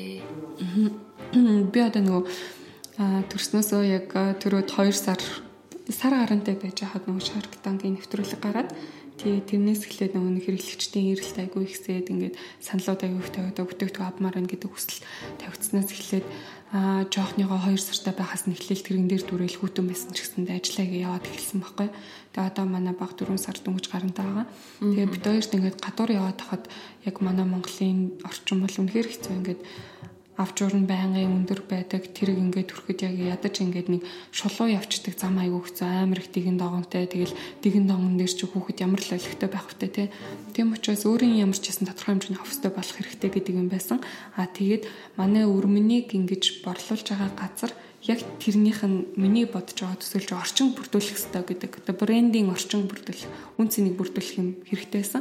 Би одоо нөгөө төрснөөсөө яг түрүүд two сар сар гарантай байж хаад нөгөө Shark Tank-ийн нэвтрүүлэг гараад тий тэрнээс эхлээд нөгөө хэрэглэгчдийн эрэлт айгүй ихсээд ингээд саналууд айгүй их тавиад бүтээгдэхүүн авмаар байна гэдэг хүсэл тавигдсанаас эхлээд аа жоохныгоо two сартай байхаас нь эхлээл тэрэн дээр дүрээл хүүтэн байсан ч гэсэндээ ажиллаагаа яваад эхэлсэн байхгүй. Тэгээ одоо манай баг four сар дөнгөж гарантай байгаа. Тэгээ бид хоёрт ингээд гадуур яваад хахад яг манай Монголын орчин бол үнэхээр хэцүү ингээд авчуурн байнгын өндөр байдаг тэрэг ингээд төрөхөд яг ядаж ингээд нэг шулуу явцдаг зам айгүй хэцүү амар их дигэн догонтой тэгэл дигэн догон дээр ч хүүхэд ямар л олигтой байх вүтэй те тийм учраас өөрийн ямар ч гэсэн тодорхой хэмжээний офстой болох хэрэгтэй гэдэг юм байсан а тэгээд манай өрмөнийг ингэж борлуулж байгаа газар яг тэрнийх нь миний бодож байгаа төсөөлж орчин бүрдүүлэх хэрэгтэй гэдэг одоо брендинг орчин бүрдүүлэх үн цэнийг бүрдүүлэх юм хэрэгтэйсэн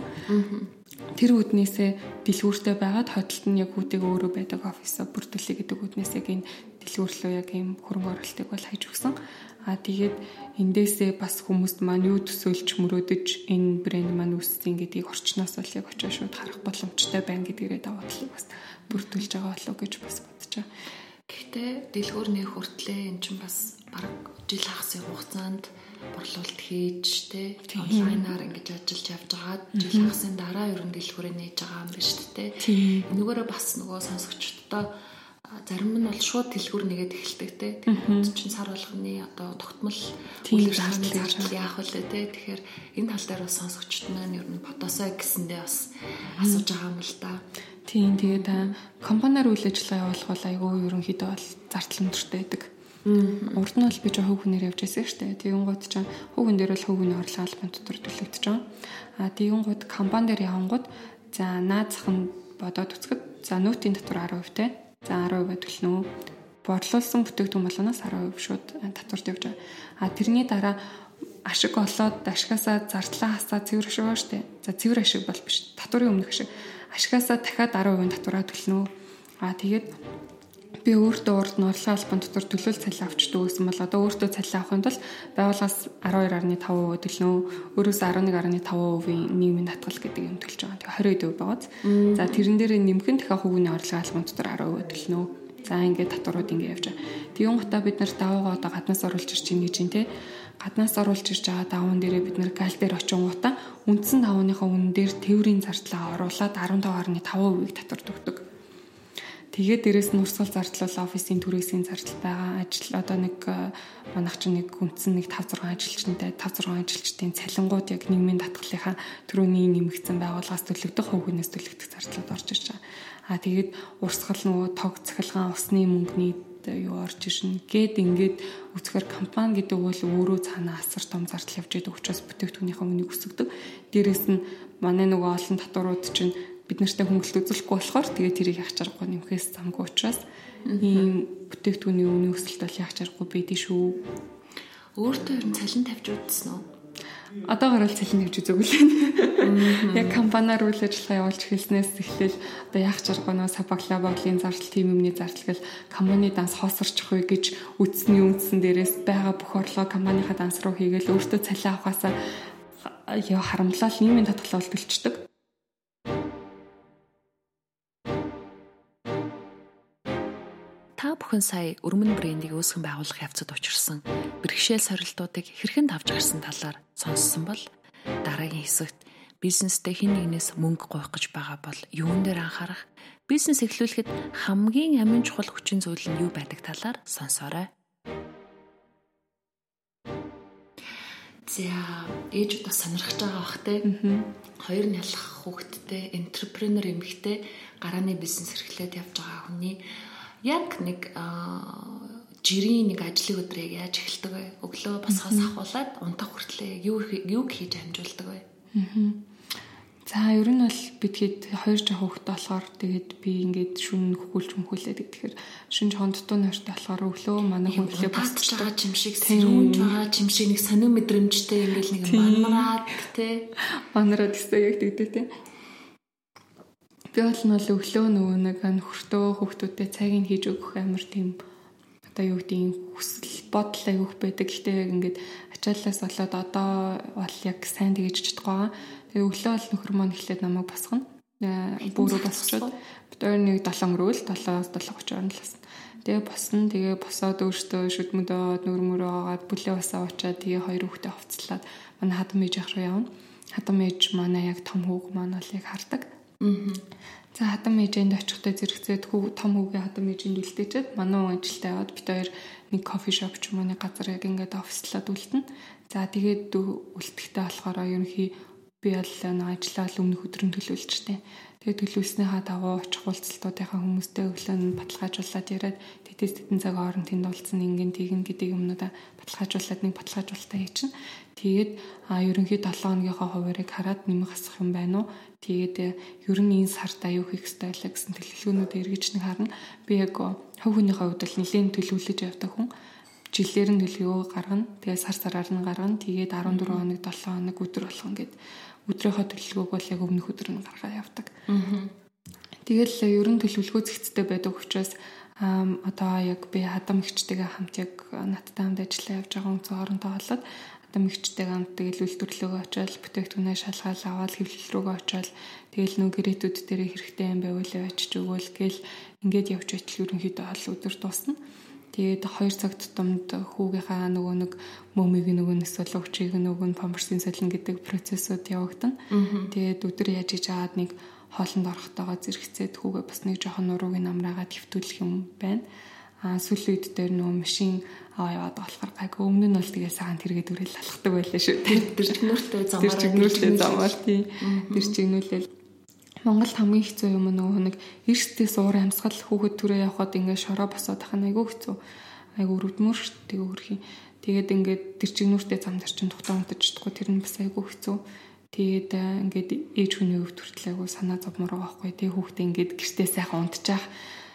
тэр үднээсээ дэлгүүртэй байгаад хотолт нь яг хүүтэйгээ өөрөө байдаг офисоо бүрдүүлэх гэдэг үднээс яг энэ дэлгүүрлөө яг ийм хөрөнгө оруулалтыг бол хайж өгсөн. Аа тэгээд эндээсээ бас хүмүүст маань юу төсөөлж мөрөөдөж энэ брэнд маань үүссэн гэдгийг орчноос бол яг очиж шууд харах боломжтой байна гэдгээрээ даваад л бас бүрдүүлж байгаа болов гэж бас бодож байгаа. Гэхдээ дэлгүүрний хүртлээ эн чинь бас бараг жил хагас хугацаанд борлуулалт хийж тэ онлайнаар ингэж ажиллаж явж байгаа. Жил хагасын дараа ерөн дэлгүүрээ нээж байгаа юм байна шүү дээ. Энүүгээрээ бас нөгөө сонсогчдоо зарим нь бол шууд дэлгүүр нэгээд эхэлдэг тэ. Тэгэхээр чинь сар болгоны одоо тогтмол үйл ажиллагааны зардал яах вэ тэ. Тэгэхээр энэ тал дээр бас сонсогчд маань ер нь бодосоо гэсэндээ бас асууж байгаа юм л да. Тийм тэгээд компаниар үйл ажиллагаа явуулах бол айгүй ерөнхийдөө бол зардал өндөртэй байдаг. Урд нь бол би жоо хүүхнээр явж байсан шүү дээ. Тэгэн гот ч хүүхэн дээр бол хүүхний орлого албан дотор төлөгдөж байгаа. А тэгэн гот компани дээр явангууд за наад зах нь бодоод үзэхэд за нөтийн татвар ten percent те. За ten percent төлнө. Борлуулсан бүтээгдэхүүн болгоноос ten percent шууд татварт явж байгаа. А тэрний дараа ашиг олоод ашигасаа зардлаа хасаа цэвэр ашиг байгаа шүү дээ. За цэвэр ашиг бол биш. Татварын өмнөх ашиг. Ашигасаа дахиад ten percent татвараа төлнө. А тэгээд би өөртөө урд нь орлогын албан дотор төлөөл цалин авчдаг гэсэн бол одоо өөртөө цалин авахын тулд байгууллагаас twelve point five percent төлнө. Өөрөөс eleven point five percent нийгмийн татгал гэдэг юм төлж байгаа. Тэгээ twenty percent байгааз. За тэрэн дээр нэмхэн дахиад хүүгийн орлогын албан дотор ten percent төлнө. За ингээд татварууд ингээд явж байгаа. Тэгүн гутаа бид нар даваагаа одоо гаднаас оруулж ирж чинь гэж юм те. Гаднаас оруулж ирж байгаа даван дээрээ бид нар гал дээр очион гутаа үндсэн давааныхаа үнэн дээр тээврийн зардлаа оруулаад fifteen point five percent татвар өгдөг. Тэгээд дээрэс нь урсгал зардлал офисын түрээсийн зардал байгаа. Ажил одоо нэг манайх чинь нэг үндсэн нэг five six ажилчтай five six ажилчдын цалингууд яг нийгмийн татгалынхаа төрөний нэмэгдсэн байгууллагаас төлөгдөх хөвгнөөс төлөгдөх зардлууд орж ирж байгаа. Аа тэгээд урсгал нөгөө тог цахилгаан усны мөнгөний юу орж ирнэ гэд ингээд үзэхээр компани гэдэг бол өөрөө цаанаа асар том зардал явж байгаа учраас бүтээгдэхүүнийхээ үнийг өсгдөг. Дээрэс нь манай нөгөө олон татварууд чинь бид нартай хөнгөлөлт үзүүлэхгүй болохоор тэгээд тэрийг яах чаргагүй нэмэхээс замгүй учраас ийм бүтээгдэхүүний үнийн өсөлт бол яах чаргагүй байдгийн шүү. Өөртөө ер нь цалин тавьж үзсэн үү? Одоогоор л цалин тавьж үзээгүй л. Яг компаниар үйл ажиллагаа явуулж эхэлснээс эхлээл одоо яах чаргагүй нөө сапагла бодлын зардал, тим юмны зардал гэл компани данс хоосорчих вэ гэж үтсний үндсэн дээрээс байгаа бүх орлого компанийхаа данс руу хийгээл өөртөө цалин авахаасаа яа харамлал нийгмийн татгалаа төлчдөг. Та бүхэн сая өрмөн брендийг үүсгэн байгуулах явцад учирсан бэрхшээл сорилтуудыг хэрхэн давж гарсан талаар сонссон бол дараагийн хэсэгт бизнестэй хэн нэгнээс мөнгө гуйх гэж байгаа бол юун дээр анхаарах, бизнес эхлүүлэхэд хамгийн амин чухал хүчин зүйл нь юу байдаг талаар сонсоорой. За, ээж удаа сонирхож байгаа бах те. Хоёр нь ялах хүүхэдтэй, энтерпренер эмэгтэй гарааны бизнес эрхлээд явж байгаа хүний яг нэг жирийн нэг ажлын өдрийг яаж эхэлдэг вэ? Өглөө босгоос ахуулаад унтах хүртлээр юу юу хийж амжуулдаг вэ? За ер нь бол бидгээд хоёр жоо хүүхэдтэй болохоор тэгээд би ингээд шүн хөхүүлж мөхүүлээд тэгэхээр шүн хондтуу нэртэй болохоор өглөө манай хөндлөө босч байгаа юм шиг сэрүүнж байгаа юм шиг нэг сонир мэдрэмжтэй ингээд нэг манараад те манараад өстой яг тэгдэ те. Би бол нь өглөө нөгөө нэг нөхөртөө хүүхдүүдэд цагийг хийж өгөх амар тийм одоо юу гэдэг хүсэл бодол аявуух байдаг. Гэхдээ яг ингээд ачааллаас болоод одоо бол яг сайн тэгэж чадахгүй. Тэгээ өглөө бол нөхөр маань эхлээд намайг босгоно. Бүрөө босгочод бид хоёр нэг долоон өрөөл долоос долоо гоц орно л басна. Тэгээ босно. Тэгээ босоод өөртөө шүдмөдөө нөр мөрөө агаад бүлээ басаа уучаад тэгээ хоёр хүүхдээ хувцлаад манай хадам ээж ах руу явна. Хадам ээж манай яг том хүүг маань бол яг хардаг. За хадам ээжэнд очихдоо зэрэгцээд хүү том хүүгээ хадам ээжэнд үлдээчихэд манай ажилтаа яваад бид хоёр нэг кофе шоп ч юм уу нэг газар яг ингээд офислаад үлдэнэ. За тэгээд үлдэхтэй болохоор ерөнхий би бол нэг ажиллаа өмнөх өдрөн төлөвлөжтэй. Тэгээд төлөвлөснийхаа дагуу очих уулзалтуудынхаа хүмүүстэй өглөө нь баталгаажуулаад яриад тэтэс тэтэн цаг хооронд тэнд уулзсан ингэн тэгэн гэдэг юмнуудаа баталгаажуулаад нэг баталгаажуулалтаа хийчихнэ. Тэгээд а ерөнхий долоон хоногийнхоо хуваарийг хараад нэмэх асах юм байна уу? Тэгээд ер нь энэ сард аюу хийх ёстой байлаа гэсэн төлөвлөгөөнүүдээ эргэж нэг харна. Би яг хувь хүнийхээ хувьд бол нэлээд төлөвлөж явдаг хүн. Жилээр нь төлөвлөгөө гаргана. Тэгээд сар сараар нь гаргана. Тэгээд арван дөрвөн хоног, долоон хоног өдөр болгон гээд өдрийнхөө төлөвлөгөөг бол яг өмнөх өдөр нь гаргаад явдаг. Тэгэл ер нь төлөвлөгөө зэгцтэй байдаг учраас одоо яг би хадам ихчтэйгээ хамт яг надтай хамт ажиллаа явж байгаа хүн хоорондоо болоод хадам ихчтэйгээ хамт тэгэл үйлдвэрлэлөөгөө очиад бүтээгдэхүүнээ шалгаал аваад хэвлэл рүүгээ очиод тэгэл нөө гэрээтүүд дээр хэрэгтэй юм байвал очиж өгөөл гээл ингээд явж байтал ерөнхийдөө бол өдөр дуусна. Тэгээд хоёр цаг тутамд хүүгийнхаа нөгөө нэг мөмийг нөгөө нь эсвэл өвчийг нөгөө нь памперсын солино гэдэг процессыг явагдана. Тэгээд өдөр яаж хийж аваад нэг хоолнд орохдоогоо зэрэгцээд хүүгээ бас нэг жоохон нуруугийн намраагаад хэвтүүлэх юм байна. Аа сүүлийн үед дээр нөгөө машин аваа яваад болохоор гайг өмнө нь бол тэгээ саан тэргээд үрэл алхдаг байлаа шүү. Тэр чигнүүртэй замаар тэр чигнүүртэй замаар тий. Тэр чигнүүлэл Монголд хамгийн хэцүү юм нөгөө нэг эрсдээс уур амьсгал хүүхэд түрээ явхад ингээд шороо босоод ахна айгүй хэцүү. Айгүй өрөвдмөр шүү дээ өөрхийн. Тэгээд ингээд тэр чигнүүртэй зам дээр чинь тухтаа унтаж чадахгүй тэр нь бас айгүй хэцүү. Тэгээд ингээд ээж хүний өвд хүртэл айгүй санаа зовмор байгаа байхгүй. Тэгээд хүүхдээ ингээд гэртээ сайхан унтчих.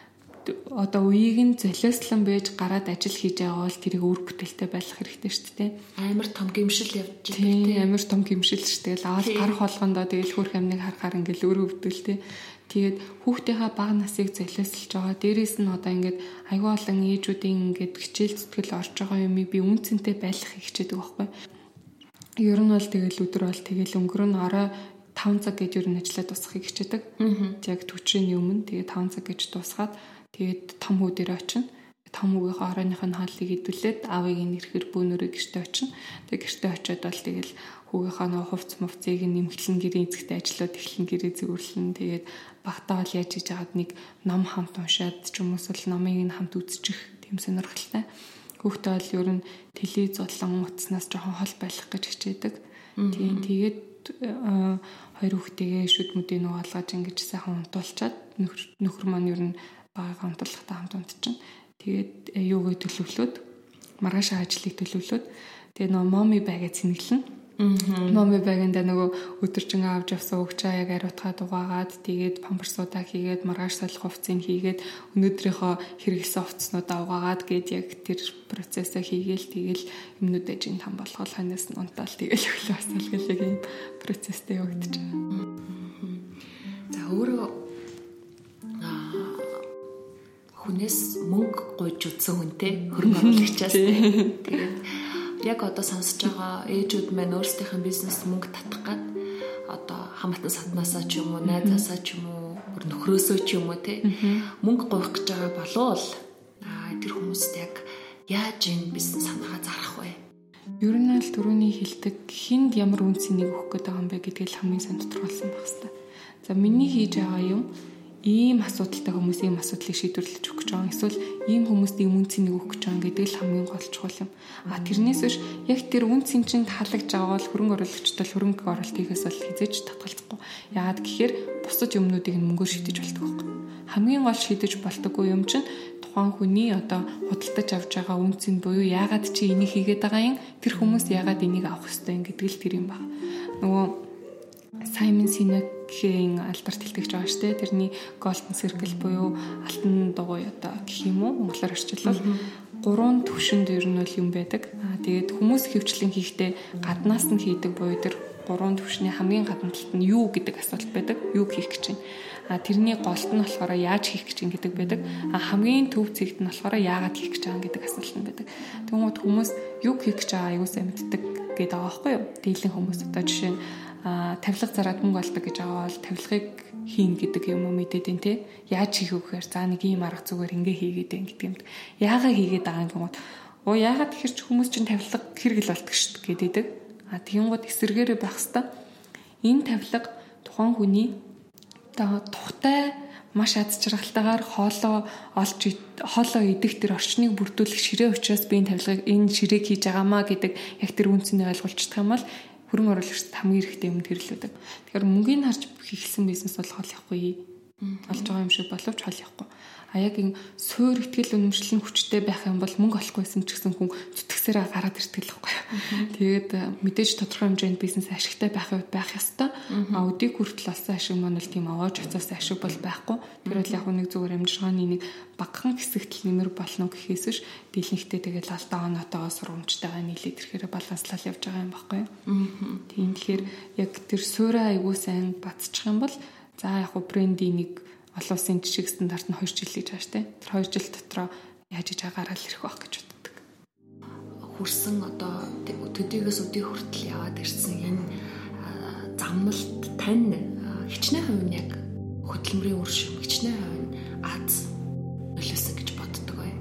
Одоо үеийг нь золиослон байж гараад ажил хийж байгаа бол тэрийг өөр бүтээлтэй байлгах хэрэгтэй шүү дээ. Амар том гимшил явж байгаа тийм амар том гимшил шүү дээ. Аваад гарах болгондоо тэгэл хөрх амныг харахаар ингээл өөрөө өвдөлтэй. Тэгээд хүүхдийнхаа бага насыг золиослж байгаа. Дээрээс нь одоо ингээд аюул олон ээжүүдийн ингээд хичээл зүтгэл орж байгаа юм би үнцэнтэй байлгахыг хичээдэг байхгүй. Ер нь бол тэгэл өдөр бол тэгэл өнгөрөн орой таван цаг гэж ер нь ажиллаад дуусгахыг хичээдэг. Яг төчрийн өмнө тэгээ таван цаг гэж дуусгаад тэгээд том хүү дээр очино. Том хүүгийн оройных нь хааллыг идүүлээд аавыг нэрхэр бөөнөрөө гэртээ очино. Тэгээд гэртээ очиод бол тэгэл хүүгийнхаа нөө хувц мувцыг нэмгэлэн гэрээ эзэгтэй ажиллаад эхлэн гэрээ зөвөрлөн. Тэгээд багтаа бол яаж хийж байгаад нэг ном хамт уншаад ч юм уус л номыг нь хамт үзчих тийм сонирхолтой. Хүүхдээ бол ер нь телевиз болон утаснаас жоохон хол байх гэж хичээдэг. Тийм тэгээд хоёр хүүхдээгээ шүд мүдийн нөө алгаж ингэж сайхан унтуулчаад нөхөр маань ер нь багагаа унтуулахтаа хамт унтчихна. Тэгээд юугээ төлөвлөөд маргааш ажлыг төлөвлөөд тэгээд нөө моми байгээ цэнгэлнэ. Моми байганда нөгөө өдөржин авч явсан өгчөө яг ариутгаад угаагаад тэгээд памперсуудаа хийгээд маргааш солих хувцсыг хийгээд өнөөдрийнхөө хэрэглэсэн хувцснуудаа угаагаад гээд яг тэр процессыг хийгээл тэгээд юмнуудаа жин там болгоод ханаас нь унтаал тэгээд өглөө асаал гэл яг юм процесстэй явагдаж байгаа. За өөрөө хүнээс мөнгө гуйж утсан хүнтэй хөрөнгө оруулагчаас тэгээд яг одоо сонсож байгаа ээжүүд маань өөрсдийнхээ бизнес мөнгө татах гад одоо хамаатан саднаасаа ч юм уу найзаасаа ч юм уу нөхрөөсөө ч юм уу те мөнгө гуйх гэж байгаа болов тэр хүмүүст яг яаж энэ бизнес санаагаа зарах вэ? Ер нь л түрүүний хэлдэг хинд ямар үнцнийг өгөх гээд байгаа юм бэ гэдгийг хамгийн сайн тодорхойлсон байх хэрэгтэй. За миний хийж байгаа юм ийм асуудалтай хүмүүс ийм асуудлыг шийдвэрлэж өгөх гэж байгаа. Эсвэл ийм хүмүүст ийм үнцнийг өгөх гэж байгаа гэдэг л хамгийн гол чухал юм. А тэрнээс биш яг тэр үнцийн чинь таалагдж байгаа бол хөрөнгө оруулагчтай хөрөнгө оруулалт хийхээс бол хизээж татгалзахгүй. Яагаад гэхээр бусад юмнуудыг мөнгөөр шийдэж болдог байхгүй. Хамгийн гол шийдэж болдоггүй юм чинь тухайн хүний одоо худалдаж авч байгаа үнцийн буюу яагаад чи энийг хийгээд байгаа юм тэр хүмүүс яагаад энийг авах ёстой юм гэдэг л тэр юм байна. Нөгөө Саймон Синекийн алдарт хэлтгэж байгаа шүү дээ. Тэрний Golden Circle буюу алтан дугуй одоо гэх юм уу монголоор орчуулбал гурван төвшөнд ер нь бол юм байдаг. Аа тэгээд хүмүүс хөвчлэн хийхдээ гаднаас нь хийдэг буюу тэр гурван төвшний хамгийн гадна талд нь юу гэдэг асуулт байдаг. Юу хийх гэж байна. А тэрний голд нь болохоор яаж хийх гэж юм гэдэг байдаг. А хамгийн төв зэгт нь болохоор яагаад хийх гэж байгаа гэдэг асуулт нь байдаг. Тэгмээд хүмүүс юу хийх гэж байгаа аюу сайн мэддэг гэдэг байгаа байхгүй юу? Дийлэн хүмүүс одоо жишээ нь а тавилга зараад мөнгө олдог гэж байгаа бол тавилгыг хийн гэдэг юм уу мэдээд энэ те яаж хийх вэ гэхээр за нэг ийм арга зүгээр ингээ хийгээд байна гэдэг юмд яагаад хийгээд байгаа юм гот оо яагаад тэгэхээр ч хүмүүс чинь тавилга хэрэгэл болтго шүү дээ гэдэг. А тиймгод эсэргээрээ байх хэвээр энэ тавилга тухайн хүний одоо тухтай маш аз жаргалтайгаар хоолоо олж хоолоо идэх тэр орчныг бүрдүүлэх ширээ учраас би энэ тавилгыг энэ ширээг хийж байгаамаа гэдэг яг тэр үнцнийг ойлгуулчихдаг юм бол хөрөнгө оруулагчид хамгийн хэрэгтэй юм тэрлүүдэг. Тэгэхээр мөнгөний харж хийхсэн бизнес бол хол явахгүй. Олж байгаа юм шиг боловч хол явахгүй. А яг ин суур ихтгэл үнэмшлэн хүчтэй байх юм бол мөнгө олохгүйсэн ч гэсэн хүн зүтгэсээрээ гараад ирдэг л байхгүй. Тэгээд мэдээж тодорхой хэмжээнд бизнес ашигтай байх байх ёстой. А өдийг хүртэл олсон ашиг маань бол тийм аваач оцоос ашиг бол байхгүй. Тэр бол яг нэг зүгээр амжиргааны нэг багахан хэсэгт нэмэр болно гэхээс биш дийлэнхтэй тэгээд алдаа оноотойгоо сургамжтайгаа нийлээд ирэхээр баланслал явж байгаа юм байхгүй. Тийм тэгэхээр яг тэр суурай аягүй сайн бацчих юм бол за яг хөө брендийн нэг олон улсын жишг стандарт нь хоёр жил гэж байгаа штэ. Тэр хоёр жил дотроо яаж иж агараад ирэх байх гэж боддог. Хүрсэн одоо төдийгөөс өдий хүртэл яваад ирсэн энэ замналт тань хичнээн хувь нь яг хөдөлмөрийн үр шим хичнээн хувь нь Аз нөлөөсөн гэж боддог бай.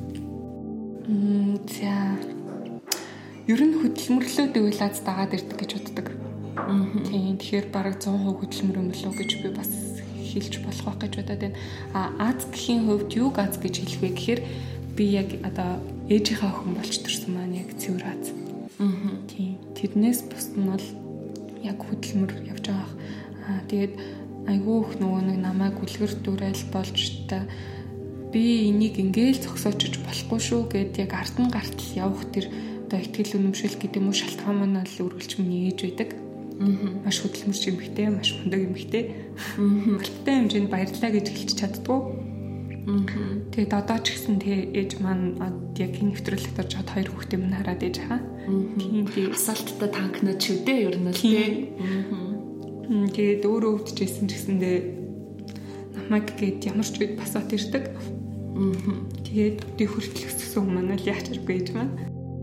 Мм за ер нь хөдөлмөрлөө дэвэл Аз дагаад ирдэг гэж боддог. Тийм тэгэхээр бараг сто процент хөдөлмөр юм болов гэж би бас хэлж болох байх гэж бодоод байна. А Аз гэхийн хувьд юу Аз гэж хэлэх вэ гэхээр би яг одоо ээжийнхаа охин болж төрсөн маань яг цэвэр Аз. Аа. Тийм. Тэрнээс бус нь бол яг хөдөлмөр явж байгаа. Аа тэгээд айгүй их нөгөө нэг намайг үлгэр дуурайл болж та би энийг ингээл зогсоочж болохгүй шүү гэд яг ард нь гартал явах тэр одоо ихтгэл үнэмшил гэдэг юм уу шалтгаан маань л үргэлж миний ээж байдаг. Маш хөдөлмөрч эмэгтэй, маш мундаг эмэгтэй. Албатай хэмжээнд баярлалаа гэж хэлж чаддгүй. Тэгээд одоо ч гэсэн тэгээ ээж маань яг энэ нэвтрүүлэгт орж хад хоёр хүүхдээ минь хараад ээж хаа. Тийм тийм асаалттай танкнууд ч үдээ ер нь л тий. Тэгээд өөрөө өвдөжсэн ч гэсэндээ намайг гээд ямар ч үед басаад ирдэг. Тэгээд өдөө хүртэл өссөн хүмүүс маань л яач аргагүй ээж маань.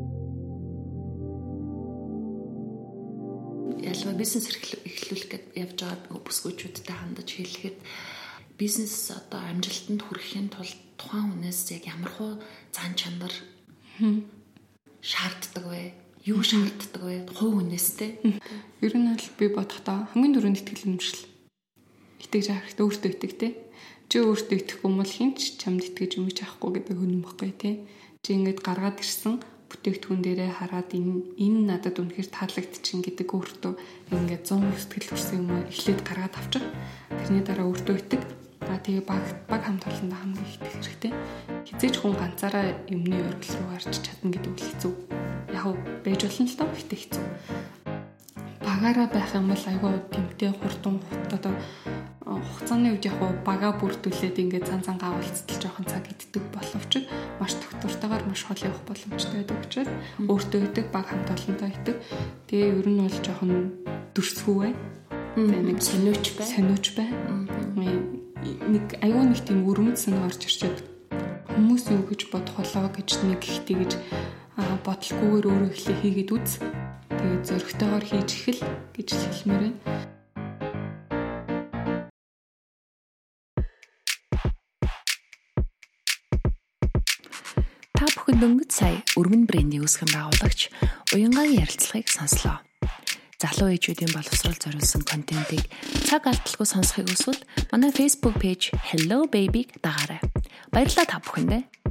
Ялва бизнес эхлүүлэх гэж явж байгаа бүсгүйчүүдтэй хандаж хэлэхэд бизнес одоо амжилтанд хүрэхин тулд тухайн хүнээс яг ямар хуу зан чанар шаарддаг вэ? Юу шаарддаг вэ? Хувь хүнээс те. Ер нь бол би бодохдоо хамгийн дөрөнд итгэл үнэмшил. Итгэж авах хэрэгтэй өөртөө итэг те. Чи өөртөө итгэхгүй бол хинч чамд итгэж юмж авахгүй гэдэг хүн юм баггүй те. Чи ингэж гаргаад ирсэн бүтээгдэхүүн дээрээ хараад энэ энэ надад үнэхээр таалагдчихин гэдэг өөртөө ингээд сто процент сэтгэл төрсэн юм уу эхлээд гаргаад авчих. Тэрний дараа өөртөө итэг. А тэгээ баг баг хамт олондоо хамгийн их итгэх хэрэгтэй. Хизээч хүн ганцаараа юмны өргөл рүү гарч чадна гэдэг үл хэцүү. Яг уу байж болно л доо ихтэй хэцүү. Багаараа байх юм бол айгүй тэмтэй хурдан одоо хугацааны үед яг бага бүрдүүлээд ингээд цан цангаа уулзтал жоохон цаг иддэг боловч маш тогтвортойгоор маш хол явах боломжтой байдаг учраас өөртөө идэг баг хамт олонтой идэг. Тэгээ ер нь бол жоохон дөрсгүү бай. Тэгээ нэг сониуч бай. Сониуч бай. Нэг аюу нэг тийм өрөмд санаа орж ирчээд хүмүүс юу гэж бодох болоо гэж нэг ихтэй гэж бодлохгүйгээр өөрөө ихлэ хийгээд үз. Тэгээ зөрөгтэйгээр хийж ихэл гэж хэлмээр байна. та бүхэнд өнгөц сая өргөн брендийн үүсгэн байгуулагч Уянгагийн ярилцлагыг сонслоо. Залуу ээжүүдийн боловсрол зориулсан контентыг цаг алдалгүй сонсохыг хүсвэл манай Facebook пэйж Hello Baby-г дагаарай. Баярлалаа та бүхэндээ.